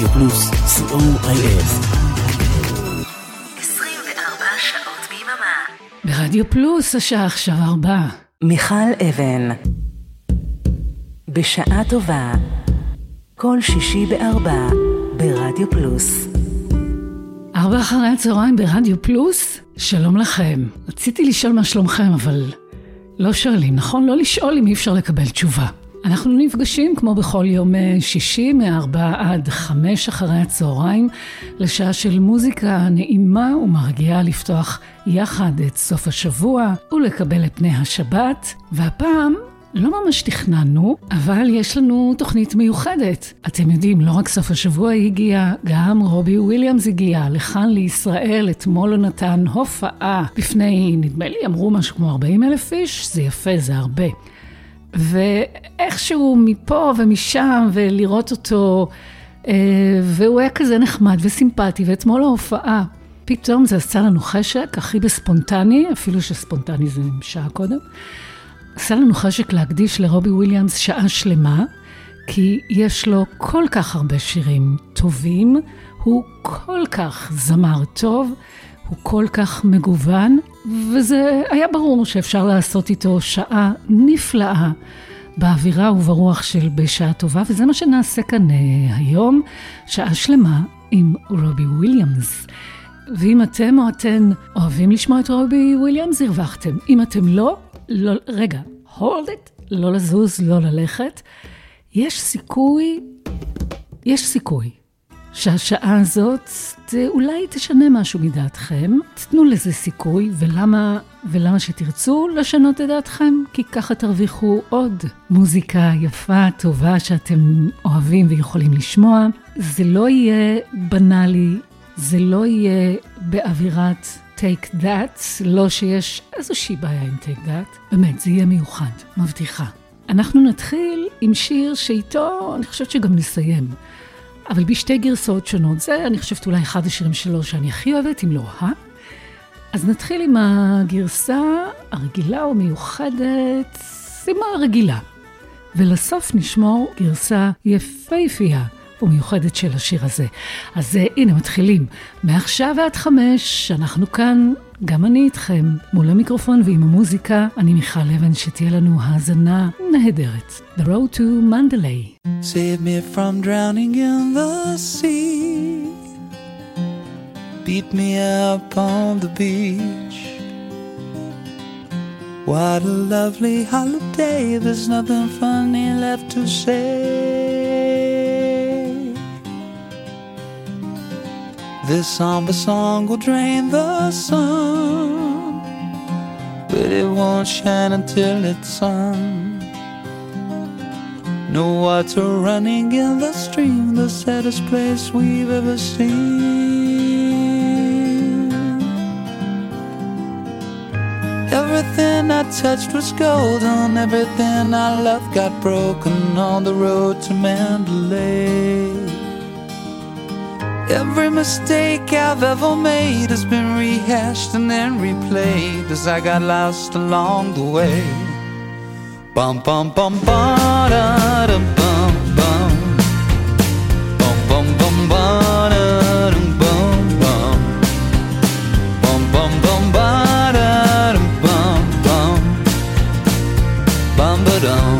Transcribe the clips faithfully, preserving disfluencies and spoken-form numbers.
רדיו פלוס, סי או איי אס. עשרים וארבע שעות ביממה. ברדיו פלוס השעה עכשיו ארבע. מיכל אבן. בשעה טובה. כל שישי בארבע ברדיו פלוס. ארבע אחרי הצהריים ברדיו פלוס. שלום לכם. רציתי לשאול מה שלומכם, אבל לא שואלים, נכון? לא לשאול אם אי אפשר לקבל תשובה. אנחנו נפגשים כמו בכל יום שישי מארבע עד חמש אחרי הצהריים לשעה של מוזיקה נעימה ומרגיעה לפתוח יחד את סוף השבוע ולקבל את פני השבת. והפעם לא ממש תכננו, אבל יש לנו תוכנית מיוחדת. אתם יודעים, לא רק סוף השבוע הגיע, גם רובי וויליאמס הגיע לכאן לישראל. אתמול הוא נתן הופעה בפני, נדמה לי, אמרו משהו כמו ארבעים אלף איש, זה יפה, זה הרבה. ואיכשהו מפה ומשם ולראות אותו, והוא היה כזה נחמד וסימפטי, ואתמול ההופעה, פתאום זה עשה לנו חשק, הכי בספונטני, אפילו שספונטני זה שעה קודם, עשה לנו חשק להקדיש לרובי וויליאמס שעה שלמה, כי יש לו כל כך הרבה שירים טובים, הוא כל כך זמר טוב, הוא כל כך מגוון, וזה היה ברור שאפשר לעשות איתו שעה נפלאה באווירה וברוח של בשעה טובה, וזה מה שנעשה כאן היום, שעה שלמה עם רובי וויליאמס. ואם אתם או אתן אוהבים לשמוע את רובי וויליאמס, הרווחתם. אם אתם לא, לא רגע, hold it, לא לזוז, לא ללכת. יש סיכוי, יש סיכוי. שהשעה הזאת אולי תשנה משהו מדעתכם, תתנו לזה סיכוי, ולמה, ולמה שתרצו לשנות את דעתכם? כי ככה תרוויחו עוד מוזיקה יפה, טובה, שאתם אוהבים ויכולים לשמוע. זה לא יהיה בנאלי, זה לא יהיה באווירת take that, לא שיש איזושהי בעיה עם take that, באמת, זה יהיה מיוחד, מבטיחה. אנחנו נתחיל עם שיר שאיתו, אני חושבת שגם נסיים. אבל בשתי גרסאות שונות, זה אני חושבת אולי אחד השירים שלו שאני הכי אוהבת, אם לא, אה? אז נתחיל עם הגרסה הרגילה ומיוחדת, שימה רגילה. ולסוף נשמור גרסה יפהפייה ומיוחדת של השיר הזה. אז הנה מתחילים, מעכשיו ועד חמש, אנחנו כאן, גם אני איתכם, מול המיקרופון ועם המוזיקה, אני מיכל אבן, שתהיה לנו האזנה נהדרת. The Road to Mandalay. Save me from drowning in the sea. Beat me up on the beach. What a lovely holiday, there's nothing funny left to say. This somber song will drain the sun, but it won't shine until it's sung. No water running in the stream, the saddest place we've ever seen. Everything I touched was golden, everything I loved got broken on the road to Mandalay. Every mistake I've ever made has been rehashed and then replayed as I got lost along the way. Bum bum bum bum da dum bum bum bum bum bum bum da dum bum bum bum bum bum ba da dum bum bum bum ba dum.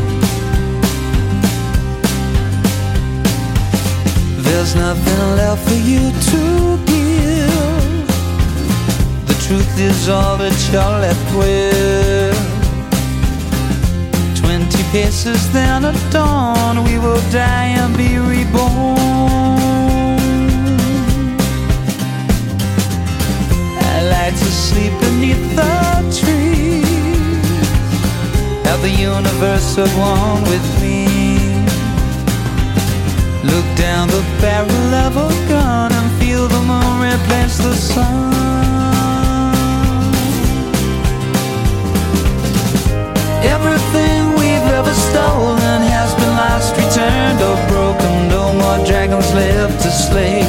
There's nothing left for you to give. The truth is all that you're left with. Twenty paces then at dawn, we will die and be reborn. I like to sleep beneath the trees, have the universe at one with me. Look down the barrel of a gun and feel the moon replace the sun. Everything we've ever stolen has been lost, returned or broken. No more dragons left to slay.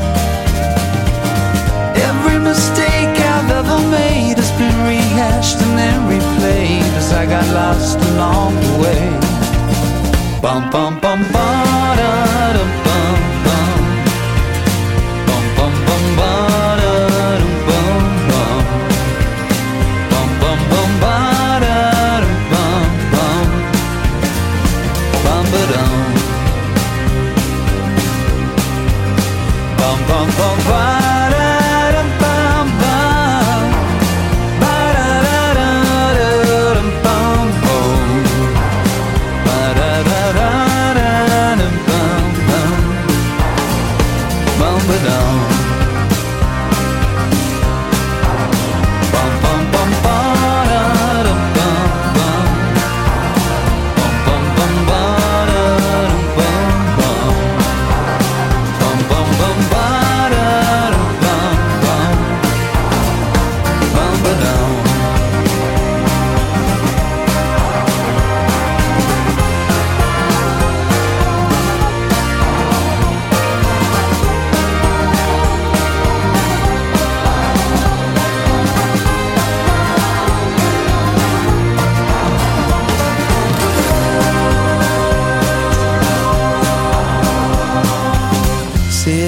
Every mistake I've ever made has been rehashed and then replayed as I got lost along the way. Bum bum bum ba da dum bum bum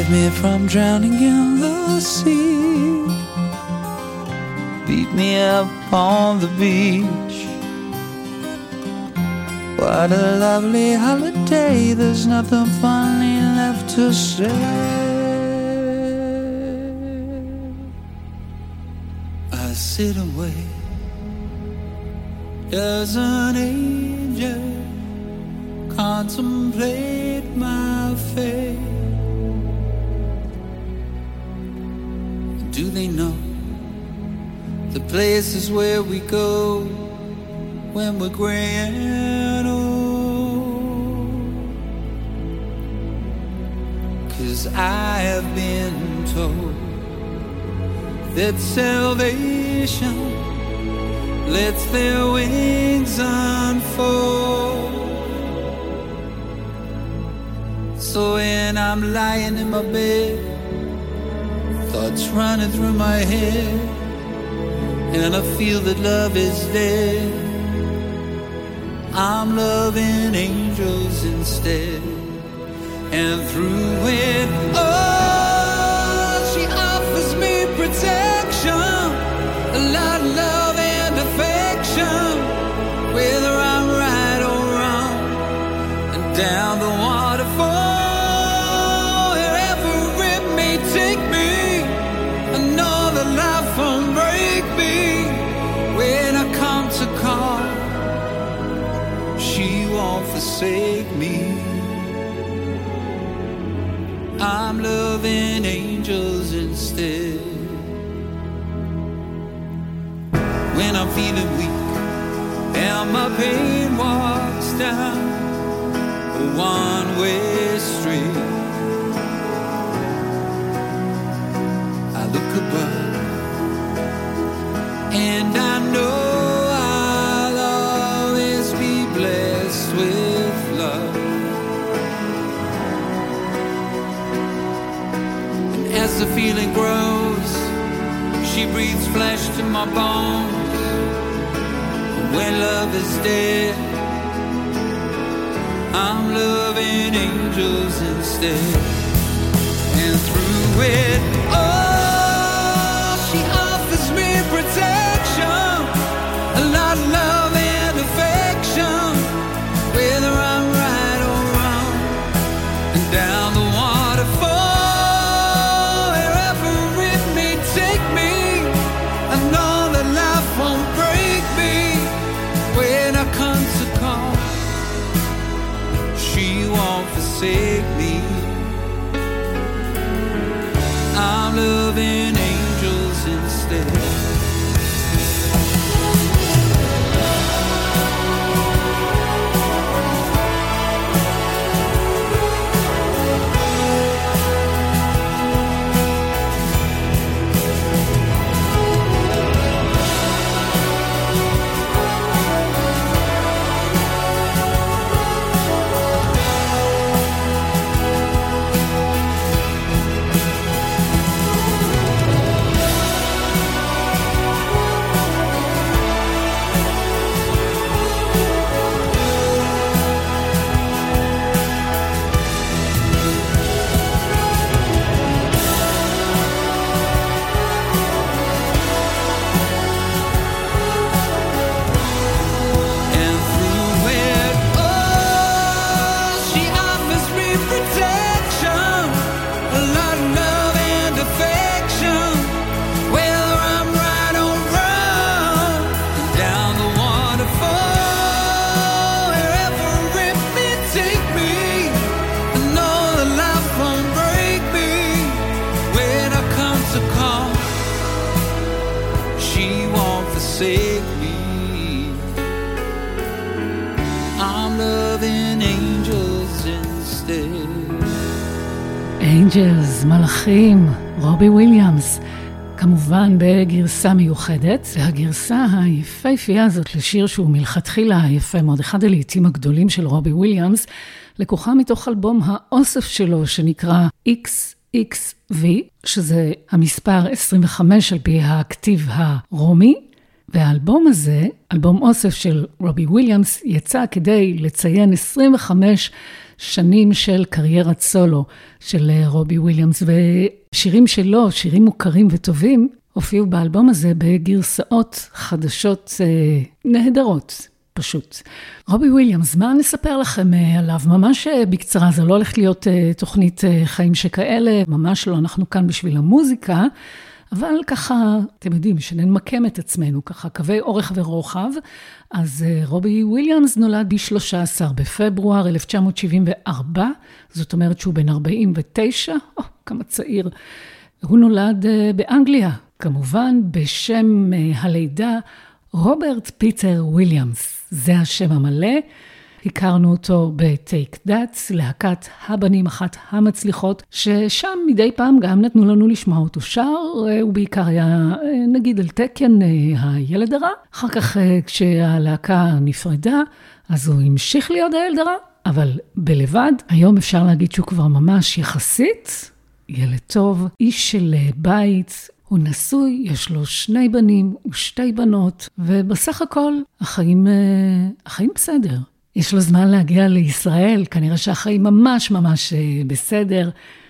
save me from drowning in the sea. Beat me up on the beach. What a lovely holiday, there's nothing funny left to say. I sit and wait. Does an angel contemplate my fate? Do they know the places where we go when we're gray and old? 'Cause I have been told that salvation lets their wings unfold. So when I'm lying in my bed, thoughts running through my head, and I feel that love is dead, I'm loving angels instead. And through it all, she offers me protection, a lot of love and affection, whether I'm right or wrong. And down the waterfall, wherever it may take me, I know that life won't break me. When I come to call, she won't forsake me. I'm loving angels instead. When I'm feeling weak and my pain walks down a one-way street, I look above and I know I'll always be blessed with love. And as the feeling grows, she breathes flesh to my bones. When love is dead, I'm loving angels instead. And through it all, she offers me protection, a lot of love and affection, whether I'm right or wrong. And down the waterfall, wherever it may take me, I know that life won't break me. When I come to call, she won't forsake me. I'm loving angels instead. forsake me. I'm loving angels instead. Angels, מלאכים, רובי וויליאמס, כמובן בגרסה מיוחדת, והגרסה היפהפייה הזאת לשיר שהוא מלכתחילה יפה מאוד, אחד הלעיתים הגדולים של רובי וויליאמס, לקוחה מתוך אלבום האוסף שלו שנקרא אקס אקס וי, שזה המספר עשרים וחמש על פי הכתיב הרומי, והאלבום הזה, אלבום אוסף של רובי וויליאמס, יצא כדי לציין עשרים וחמש שנים של קריירת סולו של רובי וויליאמס, ושירים שלו, שירים מוכרים וטובים, הופיעו באלבום הזה בגרסאות חדשות אה, נהדרות, פשוט. רובי וויליאמס, מה נספר לכם אה, עליו? ממש אה, בקצרה, זה לא הולך להיות אה, תוכנית אה, חיים שכאלה, ממש לא, אנחנו כאן בשביל המוזיקה, אבל ככה, אתם יודעים, שנמקם את עצמנו, ככה קווי אורך ורוחב. אז uh, רובי וויליאמס נולד ב-שלושה עשר בפברואר אלף תשע מאות שבעים וארבע, זאת אומרת שהוא בן ארבעים ותשע, או, כמה צעיר. הוא נולד uh, באנגליה, כמובן בשם uh, הלידה רוברט פיטר וויליאמס, זה השם המלא. הכרנו אותו בטייק דאטס, להקת הבנים אחת המצליחות, ששם מדי פעם גם נתנו לנו לשמוע אותו שר, הוא בעיקר היה נגיד על תקן הילד הרע, אחר כך כשהלהקה נפרדה, אז הוא המשיך להיות הילד הרע, אבל בלבד, היום אפשר להגיד שהוא כבר ממש יחסית, ילד טוב, איש של בית, הוא נשוי, יש לו שני בנים ושתי בנות, ובסך הכל החיים, החיים בסדר. יש לו זמן להגיע לישראל, כנראה שהחיים ממש ממש בסדר.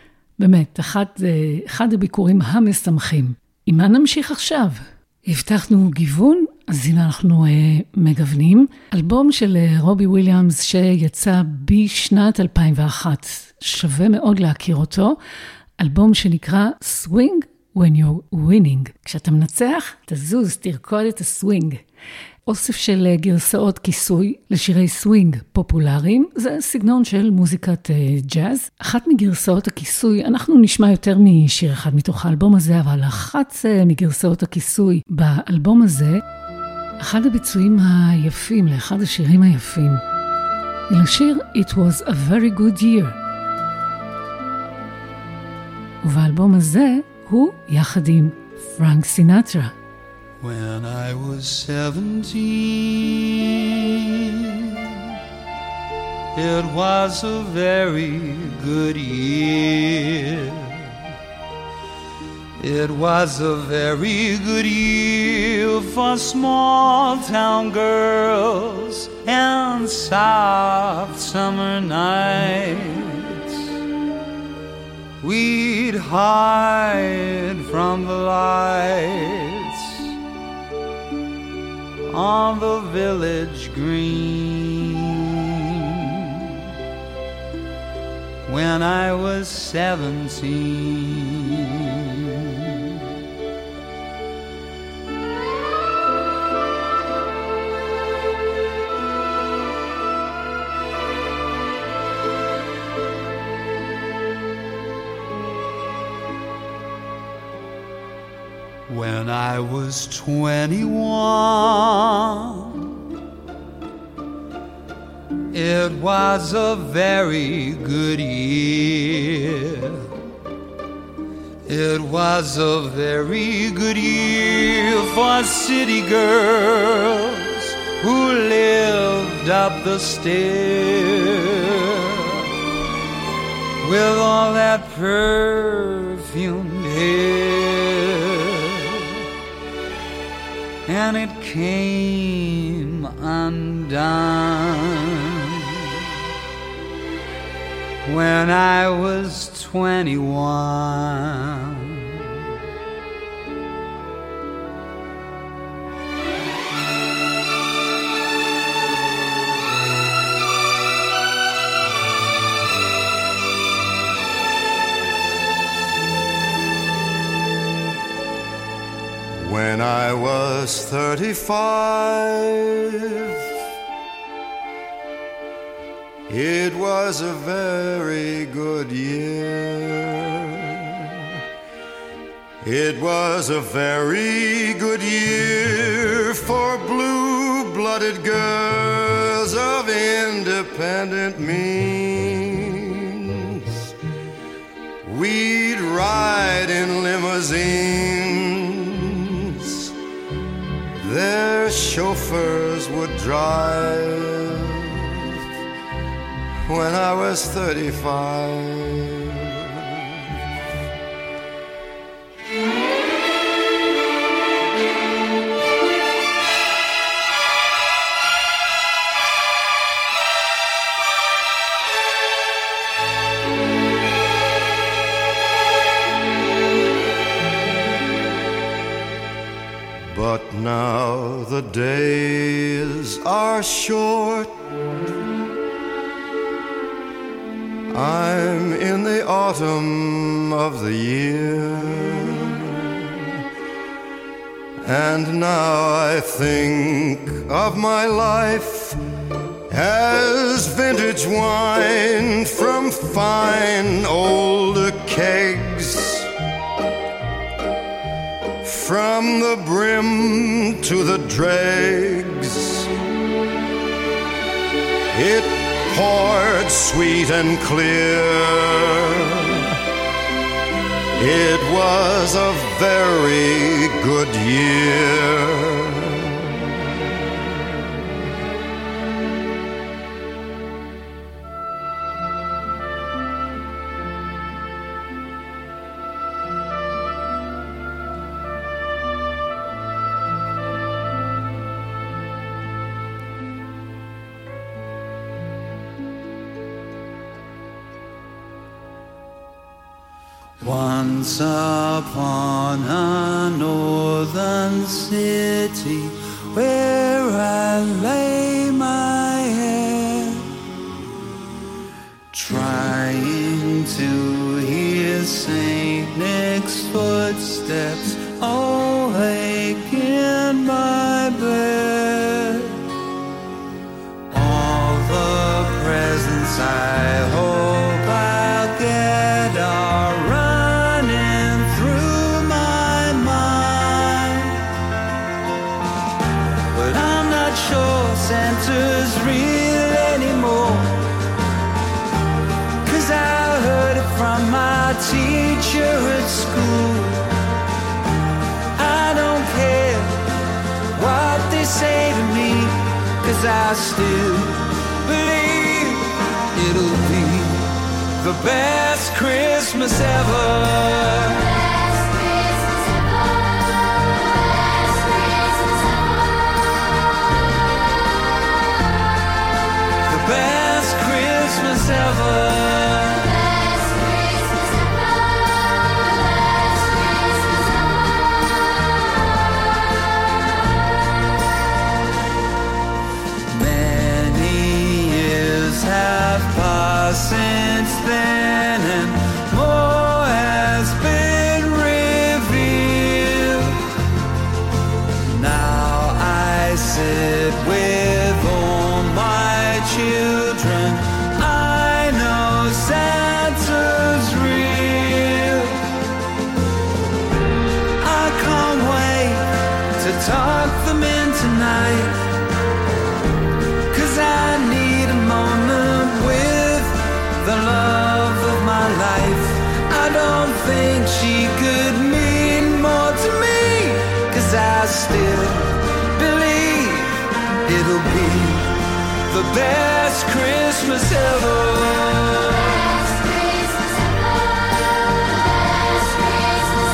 באמת, אחד, אחד הביקורים המשמחים. עם מה נמשיך עכשיו? הבטחנו גיוון, אז הנה אנחנו אה, מגוונים. אלבום של אה, רובי וויליאמס שיצא בשנת אלפיים ואחת. שווה מאוד להכיר אותו. אלבום שנקרא Swing When You're Winning. כשאתה מנצח, תזוז, תרקוד את הסווינג. אוסף של גרסאות כיסוי לשירי סווינג פופולריים, זה סגנון של מוזיקת ג'אז. אחת מגרסאות הכיסוי, אנחנו נשמע יותר משיר אחד מתוך האלבום הזה, אבל אחת מגרסאות הכיסוי באלבום הזה, אחד הביצועים היפים, לאחד השירים היפים, היא לשיר It was a very good year. ובאלבום הזה הוא יחד עם פרנק סינטרה. When I was seventeen, it was a very good year. It was a very good year for small town girls and soft summer nights. We'd hide from the lights on the village green. When I was seventeen, when I was twenty-one, it was a very good year. It was a very good year for city girls who lived up the stair with all that perfumed hair. And it came undone when I was twenty-one. When I was thirty-five, it was a very good year. It was a very good year for blue-blooded girls of independent means. We'd ride in limousines, their chauffeurs would drive. When I was thirty-five, the days are short. I'm in the autumn of the year, and now I think of my life as vintage wine from fine old kegs. From the brim to the dregs, it poured sweet and clear. It was a very good year. Once upon a northern city where I lay my head, trying to hear Saint Nick's footsteps awake in my bed. All the presents I hope I'll get are running through my mind, but I'm not sure Santa's real anymore, 'cause I heard it from my teacher at school. I don't care what they say to me, 'cause I still believe it'll be the best Christmas ever. Best Christmas ever. Best Christmas ever. The best Christmas ever. Best Christmas ever. Best Christmas ever. Many years have passed since then, and more has been revealed. Now I sit with all my children. I know Santa's real. I can't wait to talk them in tonight, 'cause I need a moment with the love of my life. I don't think she could mean more to me, 'cause I still believe it'll be the best Christmas ever. Best Christmas ever. Best Christmas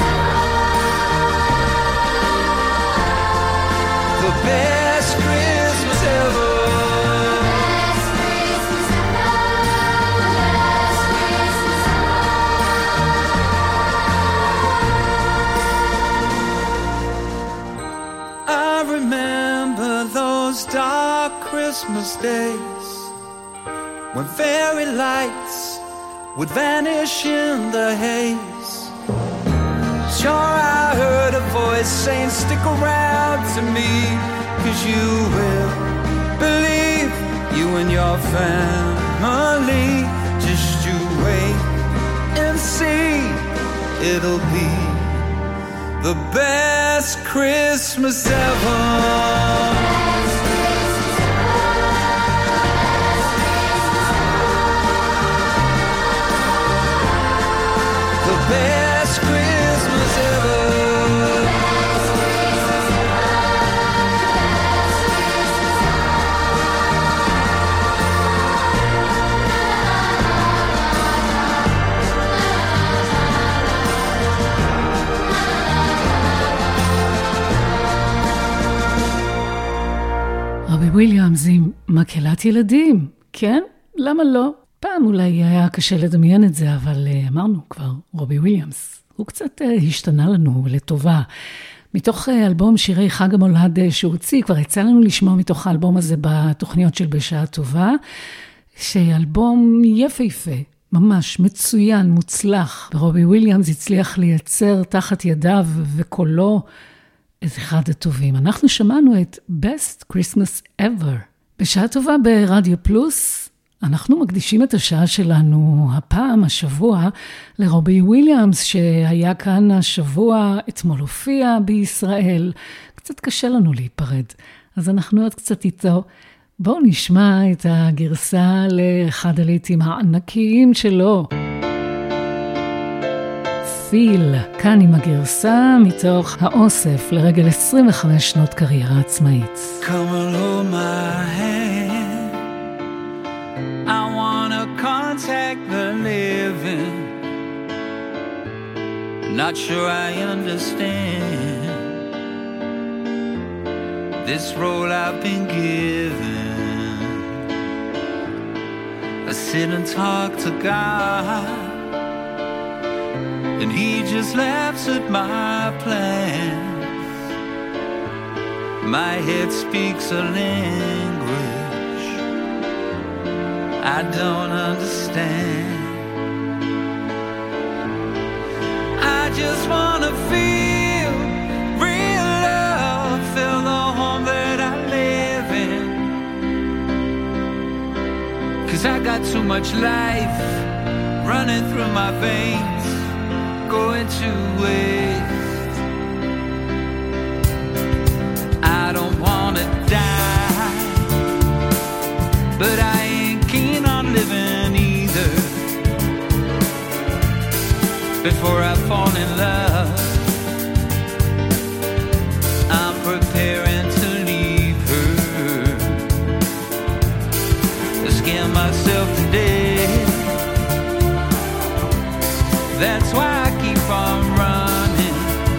ever. The best Christmas ever. Best Christmas ever. Best Christmas ever. I remember those dark Christmas days when fairy lights would vanish in the haze. Sure, I heard a voice saying, stick around to me, 'cause you will believe, you and your family. Just you wait and see, it'll be the best Christmas ever. The best Christmas ever. רובי וויליאמס עם מקהלת ילדים, כן? למה לא? פעם אולי היה קשה לדמיין את זה, אבל uh, אמרנו כבר, רובי וויליאמס, הוא קצת uh, השתנה לנו לטובה. מתוך אלבום שירי חג המולד שהוא הוציא, כבר יצא לנו לשמוע מתוך האלבום הזה בתוכניות של בשעה טובה, שאלבום יפהפה, ממש מצוין, מוצלח, ורובי וויליאמס הצליח לייצר תחת ידיו וקולו את אחד הטובים. אנחנו שמענו את Best Christmas Ever. בשעה טובה ברדיו פלוס, אנחנו מקדישים את השעה שלנו הפעם, השבוע, לרובי וויליאמס, שהיה כאן השבוע, אתמול הופיע בישראל. קצת קשה לנו להיפרד, אז אנחנו עוד קצת איתו. בואו נשמע את הגרסה לאחד הלהיטים הענקיים שלו. פיל, כאן עם הגרסה מתוך האוסף לרגל עשרים וחמש שנות קריירה עצמאית. Come and hold my hand. I wanna contact the living. Not sure I understand this role I've been given. I sit and talk to God, and he just laughs at my plans. My head speaks a language I don't understand. I just wanna feel real love, feel the home that I live in. 'Cause I got too much life running through my veins, going to waste. I don't wanna die, but I ain't keen on living either. Before I fall in love, I'm preparing to leave her. I scare myself to death. That's why I keep on running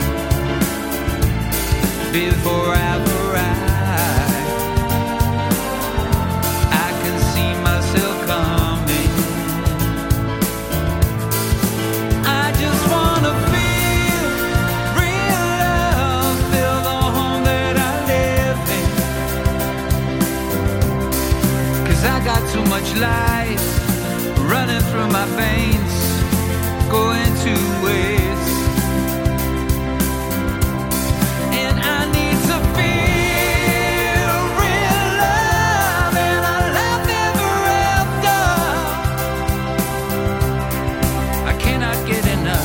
before I've arrived. I can see myself coming. I just wanna feel real love, feel the home that I live in. 'Cause I got too much life running through my veins, going to waste. And I need to feel real love, and I love ever after. I cannot get enough.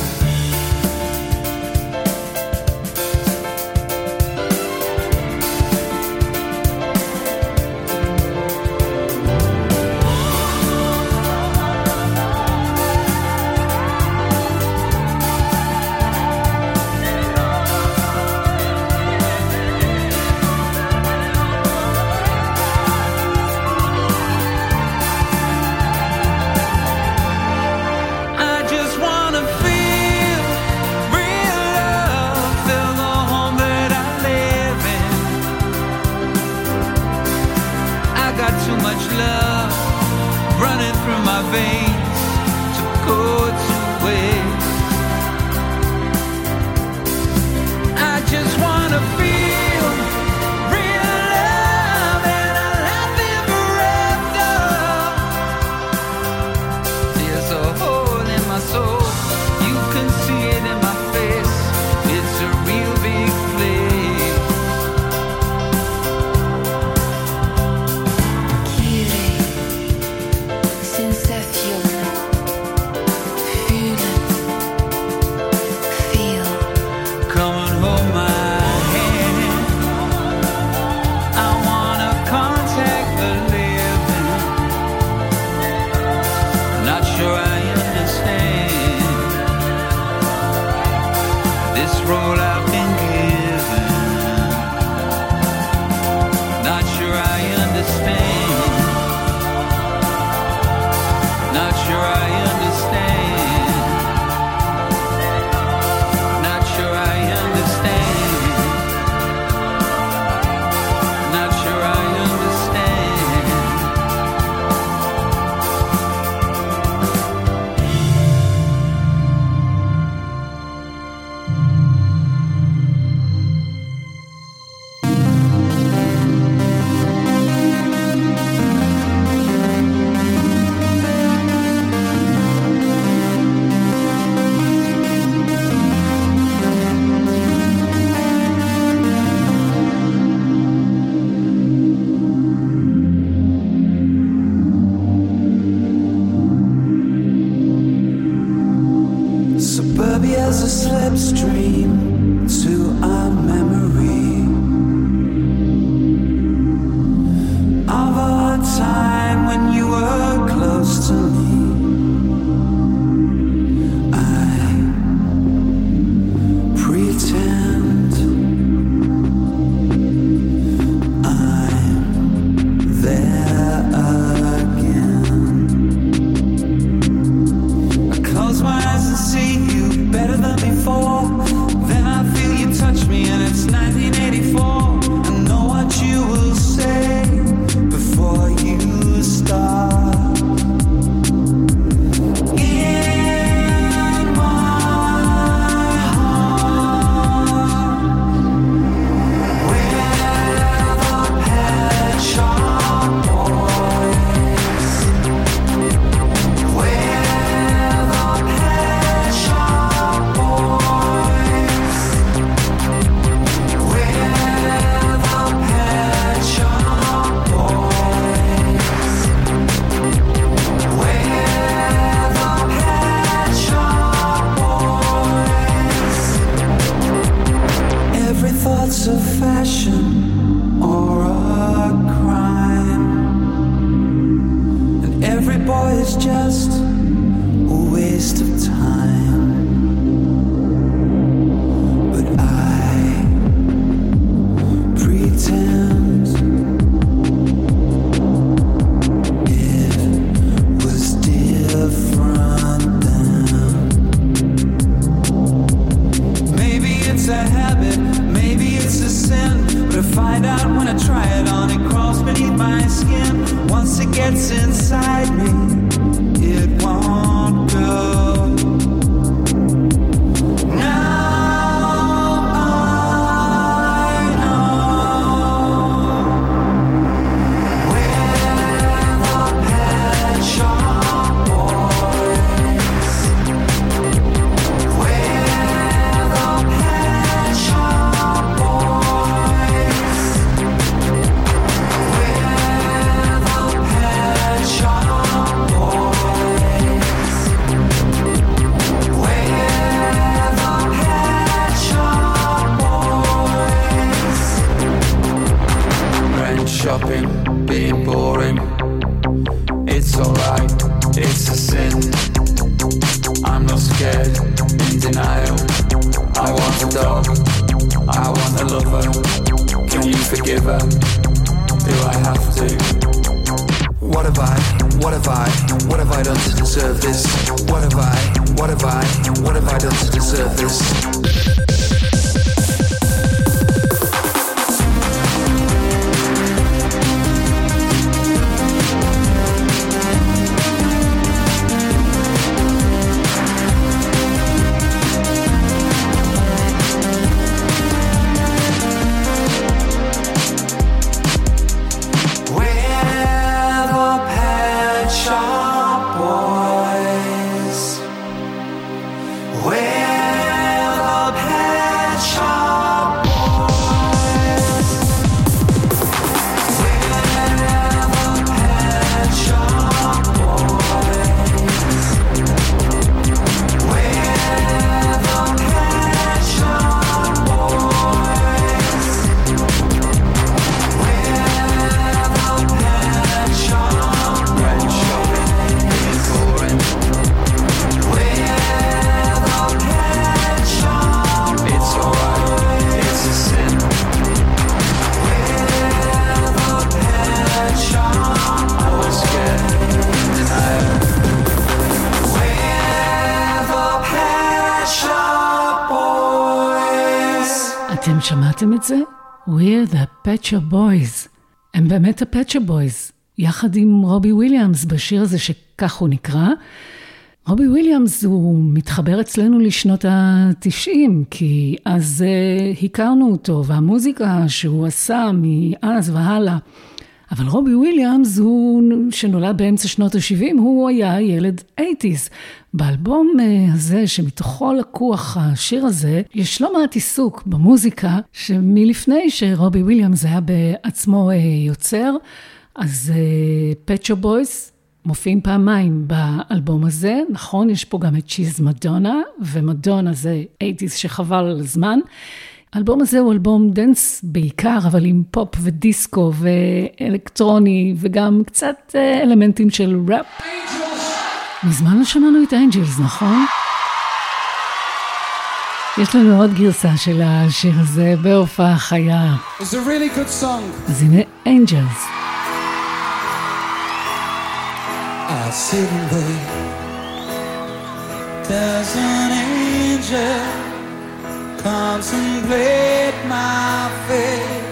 I just wanna feel real love, feel the home that I live in. I got too much love running through my veins to go to waste. I just wanna feel real love, and I love ever after. There's a hole in my soul, you can see it in my face. It's a real big place. Sensation, feel it, feel. Come and hold my hand. slipstream to our memory of a time when you were close to me. I pretend I'm there again. I close my eyes and see you better than before. Then I feel you touch me and it's nineteen eighty-four. I know what you will say before you start. In my heart, where the Pet Shop Boys, where the Pet Shop Boys, where the Pet Shop Boys, where the Pet Shop Boys. Every thought's a fashion or a crime, and every boy is just a waste of time. But I pretend it was different then. Maybe it's a habit, maybe it's a sin, but I find out when I try it on, it crawls beneath my skin. Once it gets inside me, it won't go. Now I know where the Pet Shop Boys, where the Pet Shop Boys, where the Pet Shop Boys, where the Pet Shop Boys. Rent shopping, being boring. It's alright, it's a sin. I'm not scared, in denial. I want a dog, I want a lover. Can you forgive her? Do I have to? What have I, what have I, what have I done to deserve this? What have I, what have I, what have I done to deserve this? Where the Pet Shop Boys, where the Pet Shop Boys, where the Pet Shop Boys, where the Pet Shop Boys, where the Pet Shop Red shopping, being boring. Where the Pet Shop It's alright, it's a sin. Where the Pet Shop I was scared, in denial. Where the Pet Shop Boys. אתם שמעתם את זה? We're the Pet Shop Boys. הם באמת ה-Pet Shop Boys, יחד עם רובי וויליאמס בשיר הזה שכך הוא נקרא. רובי וויליאמס הוא מתחבר אצלנו לשנות ה-תשעים, כי אז uh, הכרנו אותו, והמוזיקה שהוא עשה מאז והלאה. אבל רובי וויליאמס, הוא, שנולד באמצע שנות ה-שבעים, הוא היה ילד שמונים. באלבום uh, הזה, שמתוכו לקוח השיר הזה, יש לא מעט עיסוק במוזיקה, שמלפני שרובי וויליאמס היה בעצמו uh, יוצר, אז Pet Shop Boys מופיעים פעמיים באלבום הזה, נכון, יש פה גם את שיז מדונה, ומדונה זה שמונים שחבל על הזמן. האלבום הזה הוא אלבום דנס בעיקר, אבל עם פופ ודיסקו ואלקטרוני, וגם קצת אלמנטים של ראפ. מזמן לא שמענו את האנג'לס, נכון? יש לנו עוד גרסה של השיר הזה בהופעה חיה. It's a really good song. אז הנה אנג'לס. I sit and wait. Does an angel contemplate my fate?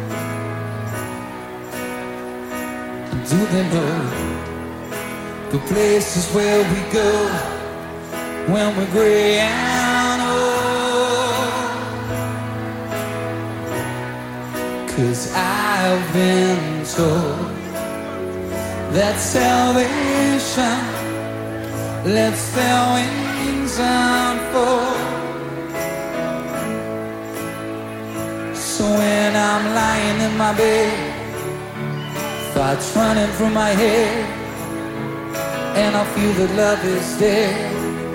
Do they know the places where we go when we're gray and old? 'Cause I've been told that salvation lets their wings unfold. So when I'm lying in my bed, thoughts running through my head, and I feel that love is dead,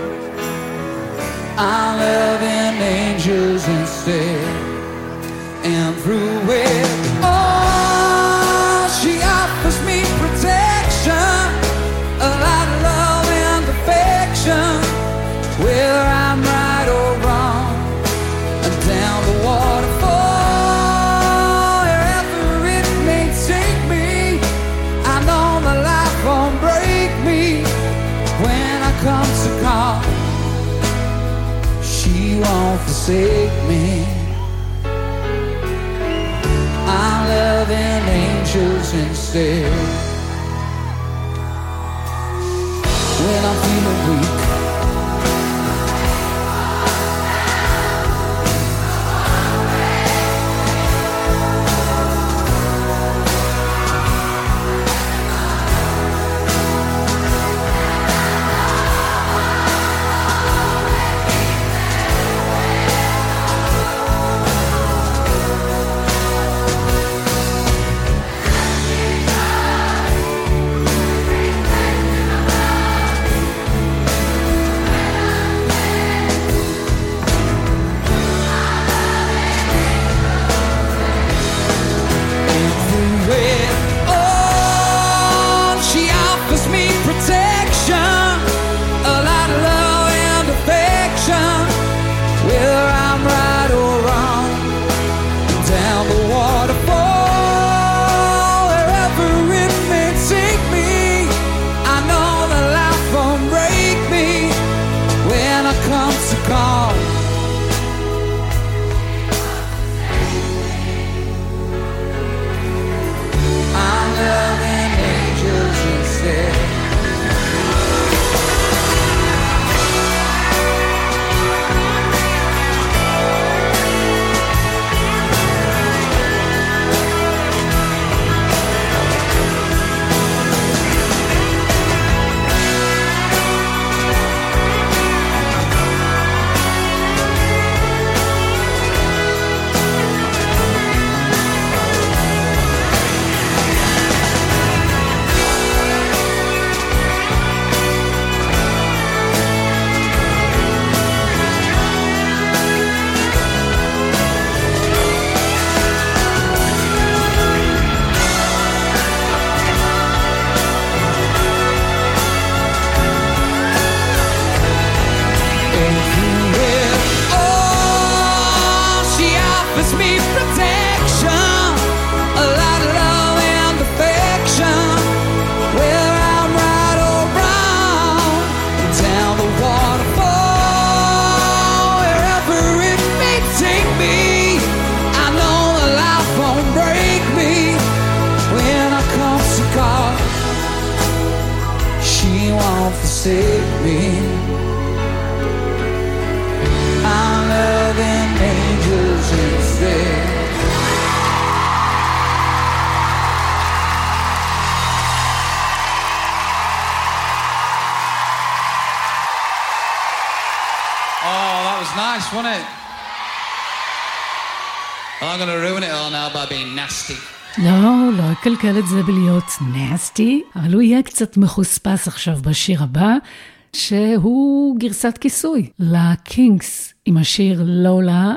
I'm loving angels instead. And through it all, she offers me protection, a lot of love and affection, whether I'm right or wrong, and down the waterfall, wherever it may take me, I know the life won't break me when I come to call. She won't forsake me. I'm loving angels instead. When I'm feeling weak, forsake me. I'm loving angels instead. Oh, that was nice, wasn't it? Well, I'm going to ruin it all now by being nasty. לא, לא אקלקל את זה בלהיות נסטי, אבל הוא יהיה קצת מחוספס עכשיו בשיר הבא, שהוא גרסת כיסוי לקינגס עם השיר לולה.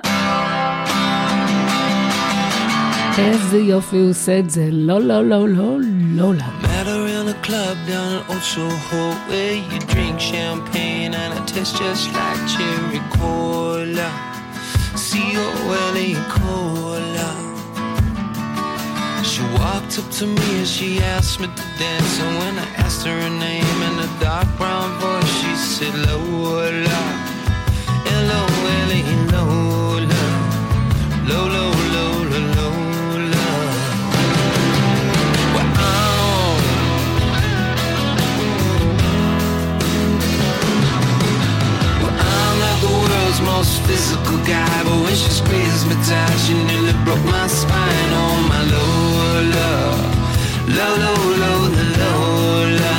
איזה יופי הוא עושה את זה, לא, לא, לא, לא, לולה. Met her in a club down in Old Soho where you drink champagne and it tastes just like cherry cola. C O L A cola. She walked up to me and she asked me to dance, and when I asked her her name in a dark brown voice, she said Lola, L O L A, Lola, Lola, Lola, Lola. Well, I'm, well, I'm not the world's most physical guy, but when she squeezed me tight, she nearly broke my spine. Oh my Lola, Lola, Lola, Lola.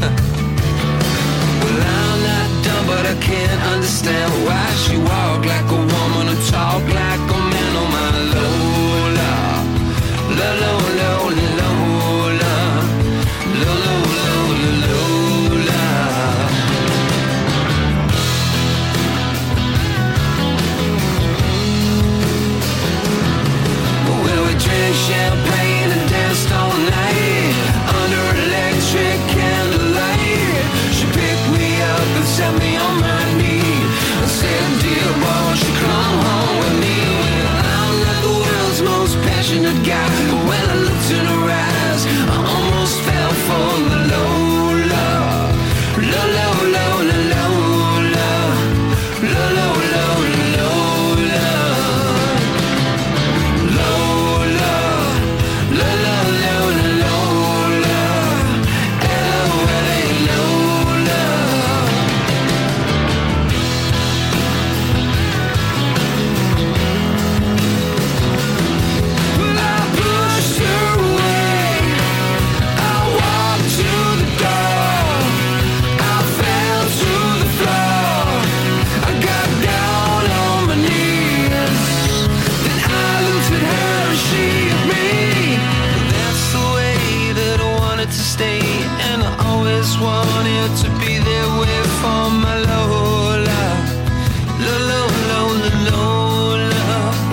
Well, I'm not dumb, but I can't understand why she walk like a woman and talk like a man. Oh my Lola, Lola, Lola, Lola, Lola, Lola, Lola. Well, we drank champagne and danced all night under electric candlelight. She picked me up and set me on my knee and said, dear boy, won't you come home with me? Well, I'm not the world's most passionate guy, but when I looked in her eyes, I almost fell for the Lola, Lola, Lola, Lola, Lola, Lola, Lola. Lola, Lola, Lola, Lola, L O L A, Lola. Well, I pushed her away, I walked to the door, I fell to the floor, I got down on my knees, then I looked at her and she at me. That's the way that I wanted to stay, and I always wanted to be there with for my Lola, Lola, Lola, Lola.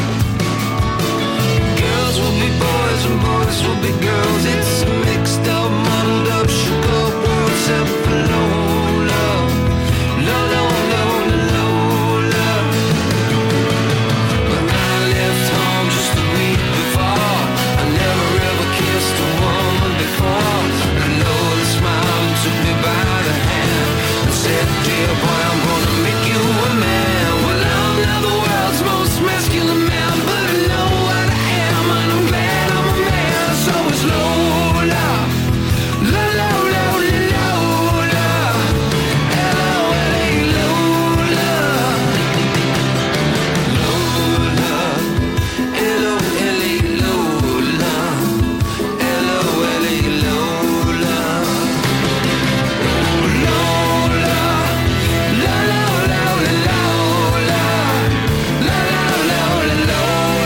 Girls will be boys and boys will be girls. It's a mixed up, muddled up, shook up world except for Lola, Lola, Lola, Lola. But I left home just a week before. I never ever kissed a woman before. And Lola smiled and took me by the hand and said, dear boy, I'm gonna make you a man. Well, I'm not the world's most masculine man, but I know what I am, and I'm glad I'm a man. So it's Lola, Lola, Lola, Lola, L O L A, Lola, Lola, L O L A, Lola, L O L A, Lola, Lola, Lola, Lola, Lola, Lola, Lola,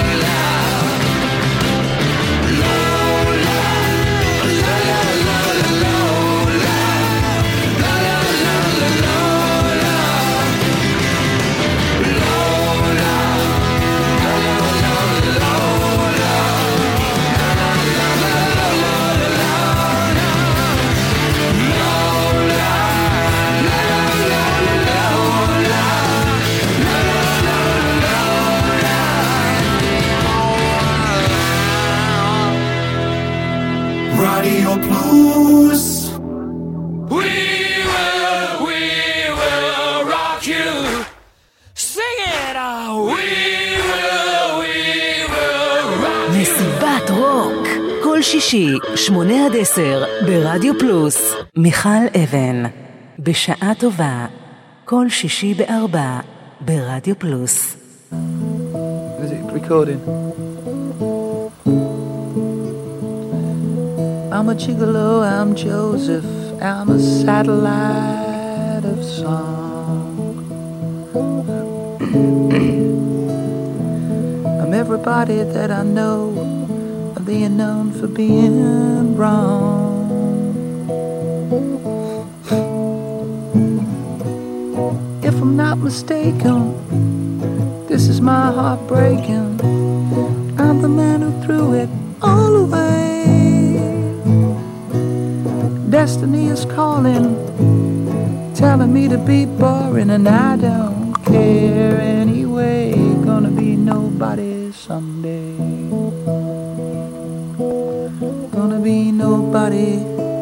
Radio Plus. We will, we will rock you. Sing it out. We will, we will rock you. מסיבת רוק, כל שישי, שמונה עד עשר, ברדיו פלוס. מיכל אבן, בשעה טובה, כל שישי בארבע, ברדיו פלוס. Is it recording? I'm a gigolo, I'm Joseph, I'm a satellite of song. I'm everybody that I know, they are known for being wrong. If I'm not mistaken, this is my heart breaking. I'm the man who threw it all away. Destiny is calling, telling me to be boring, and I don't care anyway. Gonna be nobody someday. Gonna be nobody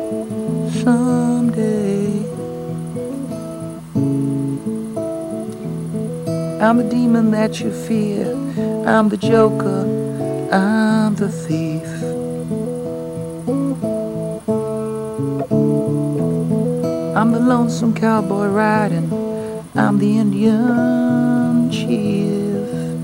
someday. I'm the demon that you fear. I'm the joker. I'm the thief. I'm the lonesome cowboy riding. I'm the Indian chief.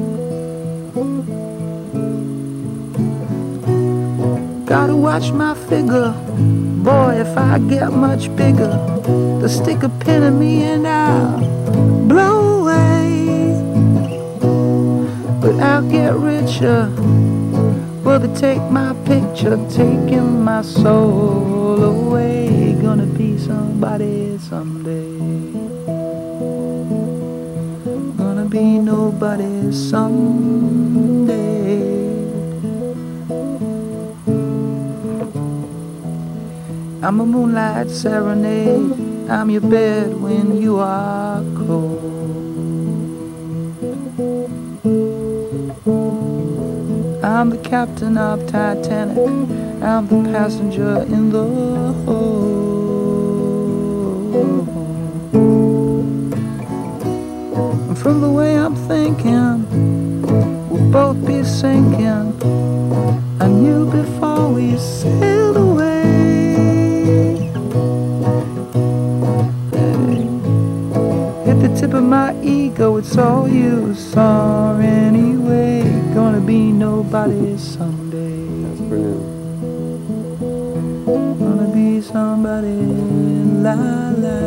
Gotta watch my figure. Boy, if I get much bigger, they'll stick a pin in me and I'll blow away. But I'll get richer. Will they take my picture, taking my soul away? Gonna be somebody someday. Gonna be nobody someday. I'm a moonlight serenade. I'm your bed when you are cold. I'm the captain of Titanic. I'm the passenger in the hold. And from the way I'm thinking, we'll both be sinking. I knew before we sailed away. At the tip of my ego, it's all you saw anyway. Gonna be nobody someday. That's brilliant. Gonna be somebody, la la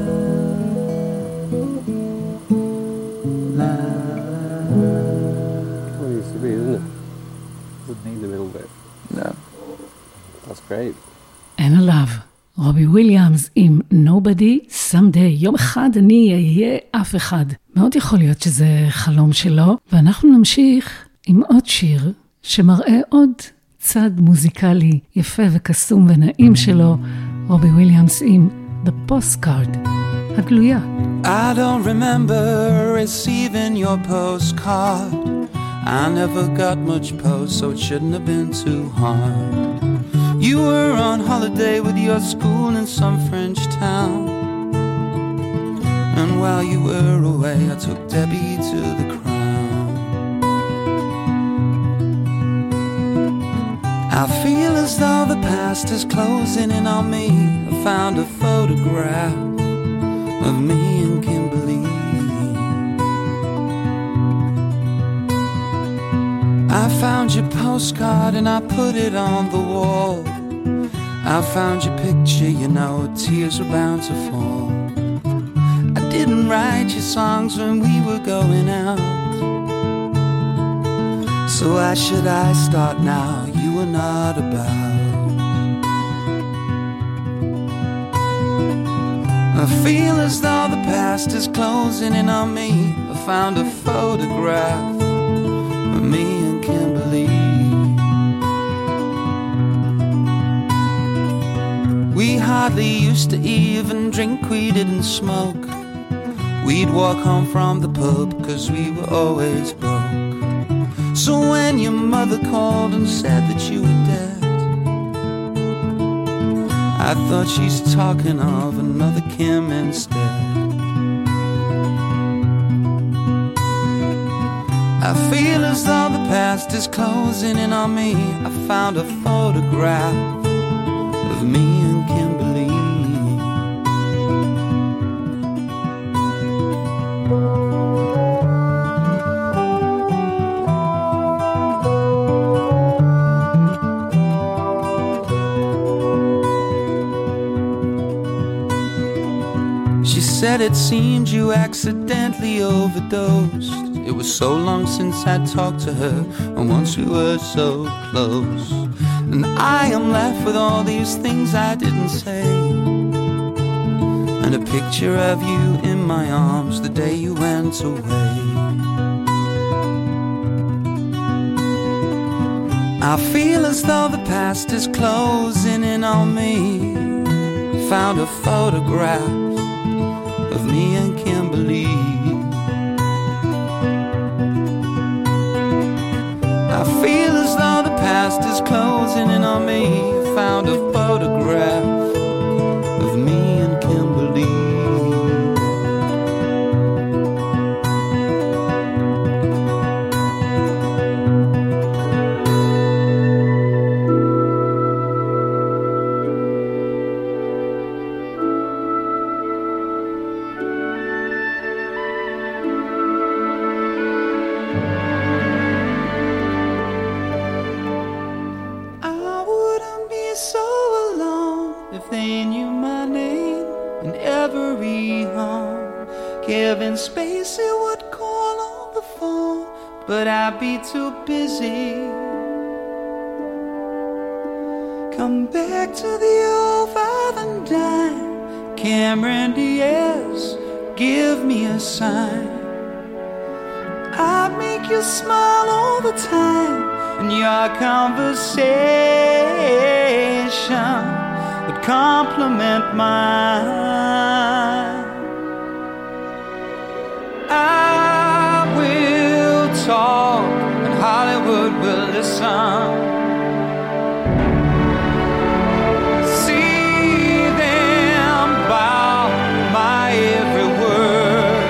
la. Well, it used to be, isn't it? Doesn't need the middle bit. No. That's great. אין עליו. רובי וויליאמס עם Nobody Someday. יום אחד אני אהיה אף אחד. מאוד יכול להיות שזה חלום שלו, ואנחנו נמשיך עם עוד שיר שמראה עוד צד מוזיקלי יפה וקסום ונעים שלו, רובי וויליאמס עם The Postcard, הגלויה. I don't remember receiving your postcard. I never got much post, so it shouldn't have been too hard. You were on holiday with your school in some French town, and while you were away I took Debbie to the Crown. I feel as though the past is closing in on me. I found a photograph of me and Kimberly. I found your postcard and I put it on the wall. I found your picture, you know, tears were bound to fall. I didn't write your songs when we were going out, so why should I start now? You were not about. I feel as though the past is closing in on me. I found a photograph of me and Kimberly. We hardly used to even drink, we didn't smoke. We'd walk home from the pub cause we were always broke. So when your mother called and said that you were dead, I thought she's talking of another Kim instead. I feel as though the past is closing in on me. I found a photograph of me and Kimberly. She said it seemed you accidentally overdosed. It was so long since I talked to her, and once we were so close. and I am left with all these things I didn't say, and a picture of you in my arms the day you went away. I feel as though the past is closing in on me. Found a photograph of me and Kimberly. I feel as though the past is closing in on me. Found a photograph of me and Kimberly. Kevin Spacey would call on the phone, but I'd be too busy. Come back to the old Valentine, Cameron Diaz, give me a sign. I'd make you smile all the time, and your conversation would compliment mine. I will talk and Hollywood will listen. See them bow my every word.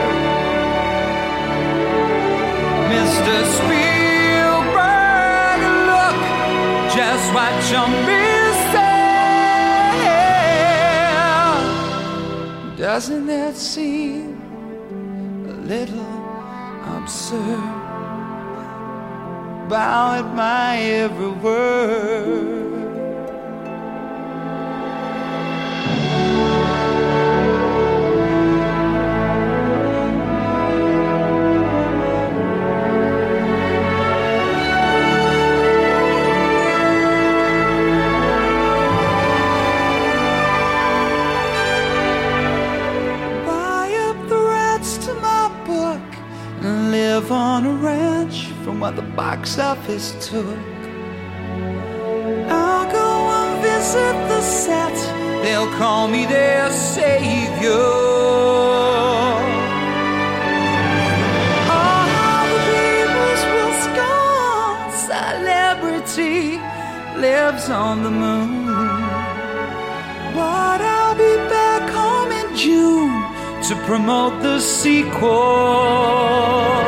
Mister Spielberg, look just what you're missing. Doesn't that seem little absurd? Bow at my every word. On a ranch from what the box office took. I'll go and visit the set. They'll call me their savior. Oh, how the peoples will scorn celebrity lives on the moon. But I'll be back home in June to promote the sequel.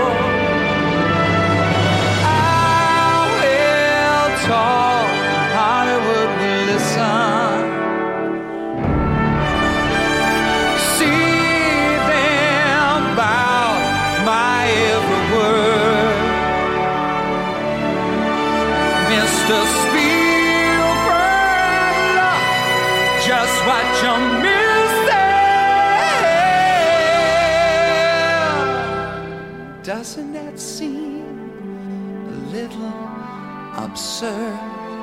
Talk, Hollywood will listen. See them bow my every word. Mister Spielberg, look just what you're missing. Doesn't that seem a little absurd?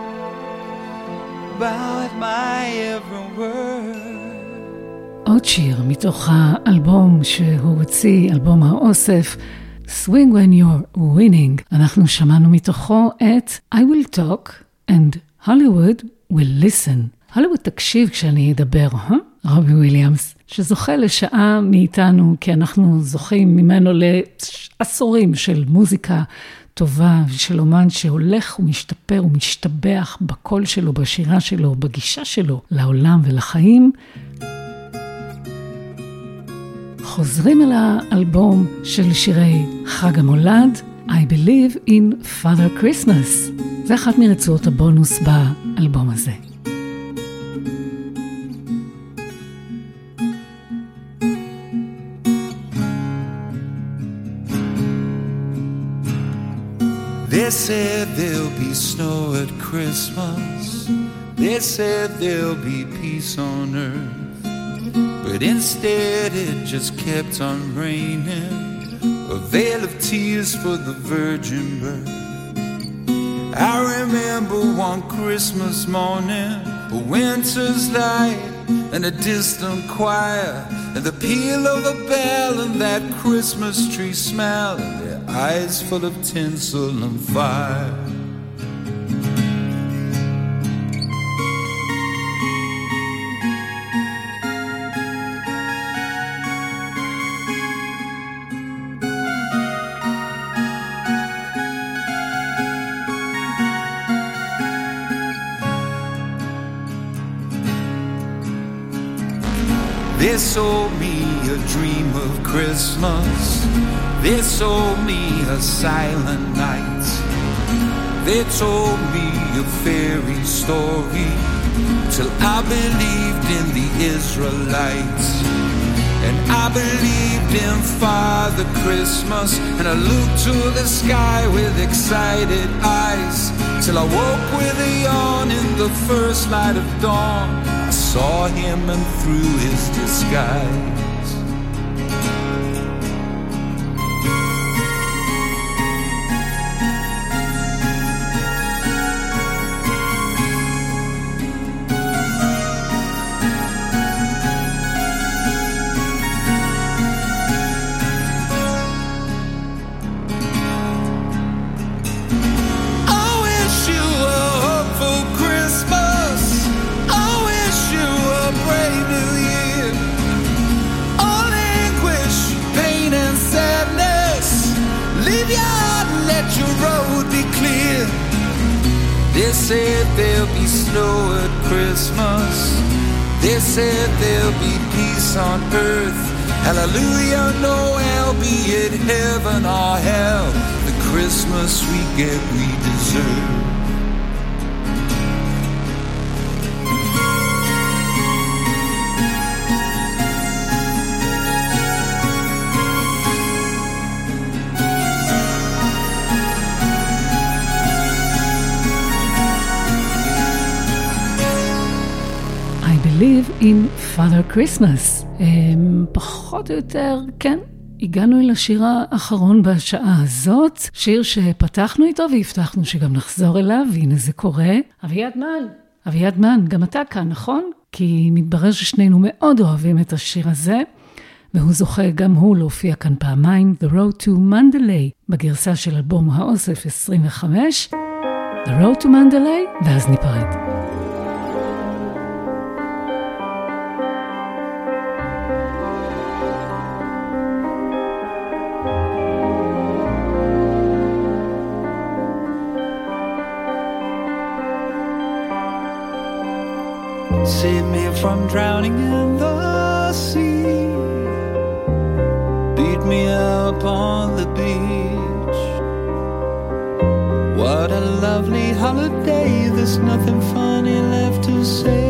Bow at my every word. עוד שיר מתוך האלבום שהוא הוציא, אלבום האוסף, Swing When You're Winning. אנחנו שמענו מתוכו את I Will Talk and Hollywood Will Listen. הוליווד תקשיב כשאני אדבר, אה? רובי וויליאמס, שזוכה לשעה מאיתנו, כי אנחנו זוכים ממנו לעשורים של מוזיקה טובה ושל אומן שהולך ומשתפר ומשתבח בקול שלו, בשירה שלו, בגישה שלו לעולם ולחיים. חוזרים אל האלבום של שירי חג המולד, I Believe in Father Christmas. זה אחת מרצועות הבונוס באלבום הזה. They said there'll be snow at Christmas. They said there'll be peace on earth. But instead it just kept on raining, a veil of tears for the virgin birth. I remember one Christmas morning, a winter's light and a distant choir, and the peal of a bell and that Christmas tree smell, and their eyes full of tinsel and fire. They sold me a dream of Christmas. They sold me a silent night. They told me a fairy story till I believed in the Israelites. And I believed in Father Christmas, and I looked to the sky with excited eyes till I woke with a yawn in the first light of dawn. I saw him and through his disguise. They said there'll be snow at Christmas. They said there'll be peace on earth. Hallelujah, Noel, be it heaven or hell. The Christmas we get, we deserve. Live in Father Christmas. פחות או יותר, כן, הגענו אל השיר האחרון בשעה הזאת, שיר שפתחנו איתו והבטחנו שגם נחזור אליו, והנה זה קורה. אביעד מן, אביעד מן, גם אתה כאן, נכון? כי מתברר ששנינו מאוד אוהבים את השיר הזה, והוא זוכה גם הוא להופיע כאן פעמיים, The Road to Mandalay, בגרסה של אלבום האוסף עשרים וחמש, The Road to Mandalay, ואז ניפרד. Save me from drowning in the sea. Beat me up on the beach. What a lovely holiday. There's nothing funny left to say.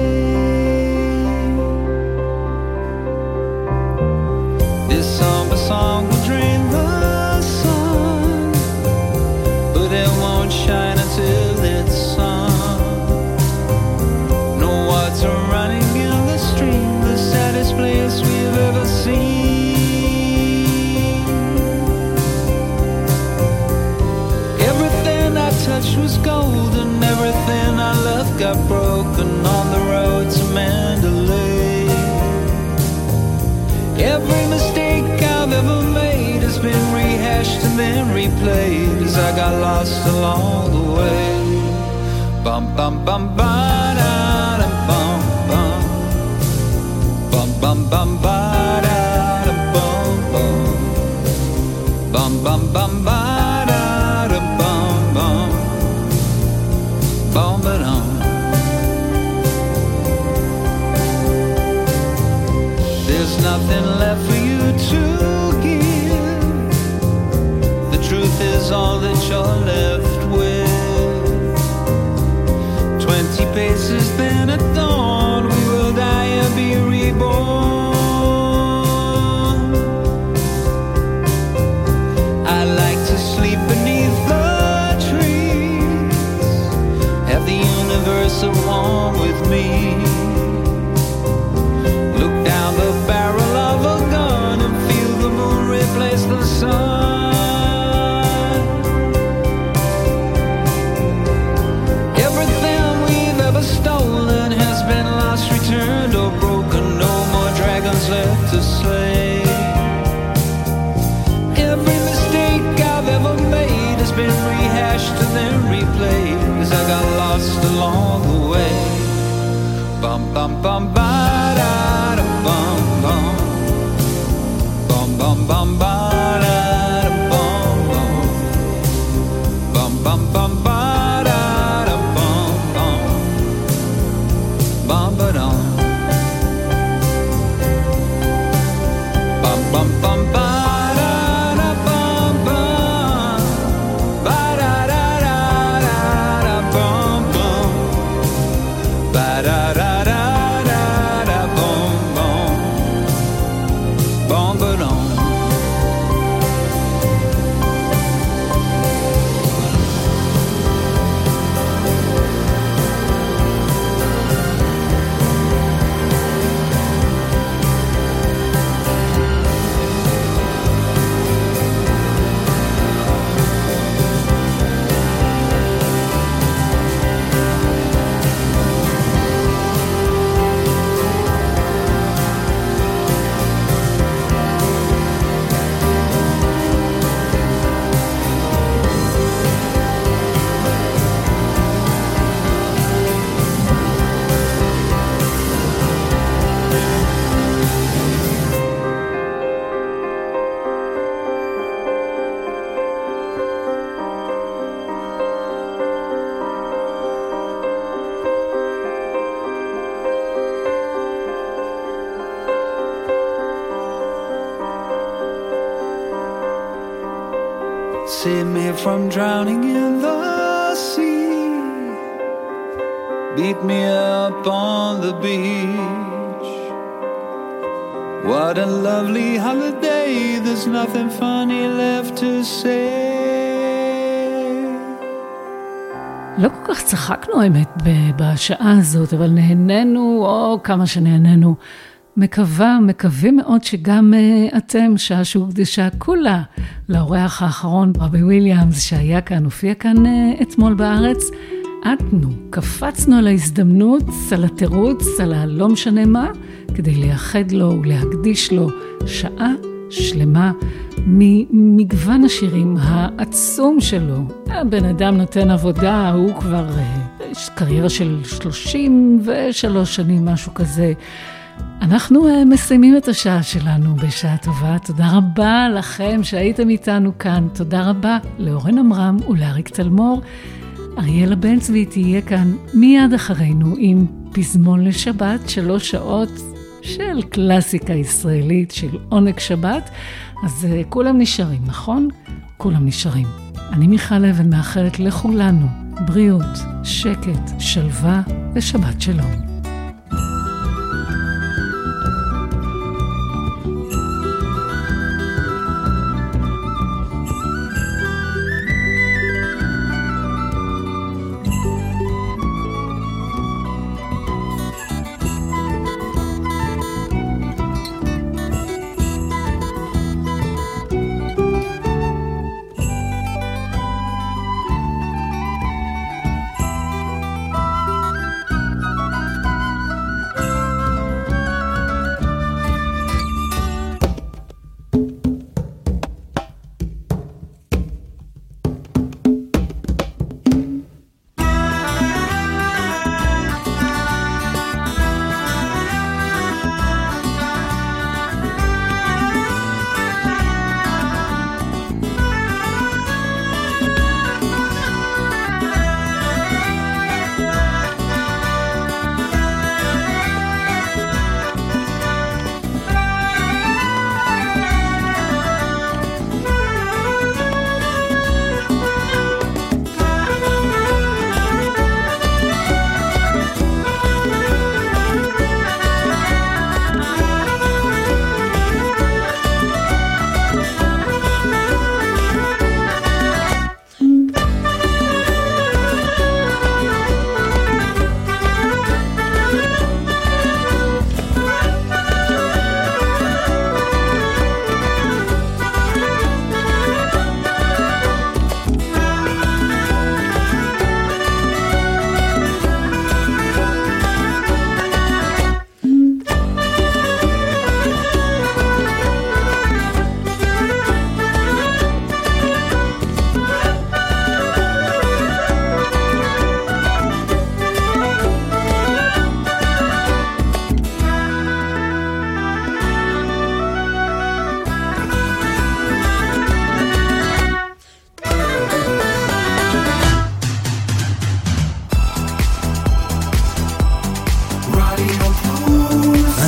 This somber song will drain the sun, but it won't shine until it's sung. Running in the stream, the saddest place we've ever seen. Everything I touched was gold, and everything I loved got broken on the road to Mandalay. Every mistake I've ever made has been rehashed and then replayed as I got lost along the way. Bum bum bum bum da da bum. Bum bum ba da da bum bum. Bum bum bum ba da da bum bum. Bum ba dum. There's nothing left for you to give. The truth is all that you're left with. Twenty paces then at dawn, we will die and be reborn. I like to sleep beneath the trees, have the universe at one with me. Look down the barrel of a gun and feel the moon replace the sun. say. Every mistake I've ever made has been rehashed and then replayed as I got lost along the way. Bum bum bum ba da da bum bum bum bum bum ba da da bum bum bum bum bum ba da da bum bum bum ba dum bum bum bum ba da da bum bum ba da da da da da bum bum ba da da da da da bum bum bum ba dum. Save me from drowning in the sea. Beat me up on the beach. What a lovely holiday. There's nothing funny left to say. לא כל כך צחקנו האמת בשעה הזאת, אבל נהנינו, או כמה שנהנינו. מקווה, מקווים מאוד שגם uh, אתם, שעה שהוקדשה כולה לאורח האחרון, רבי וויליאמס, שהיה כאן, הופיע כאן uh, אתמול בארץ. עטנו, קפצנו על ההזדמנות, על התירוץ, על הלא משנה מה, כדי לייחד לו ולהקדיש לו שעה שלמה ממגוון השירים העצום שלו. הבן אדם נותן עבודה, הוא כבר uh, קריירה של שלושים ושלוש שנים, משהו כזה. אנחנו uh, מסיימים את השעה שלנו בשעה טובה. תודה רבה לכם שהייתם איתנו כאן. תודה רבה לאורן אמרם ולאריק תלמור. אריאלה בן צבי תהיה כאן מיד אחרינו עם פזמון לשבת, שלוש שעות של קלאסיקה ישראלית, של עונג שבת. אז uh, כולם נשארים, נכון? כולם נשארים. אני מיכל אבן מאחלת לכולנו בריאות, שקט, שלווה ושבת שלום.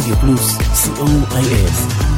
רדיו פלוס, סי או איי אס.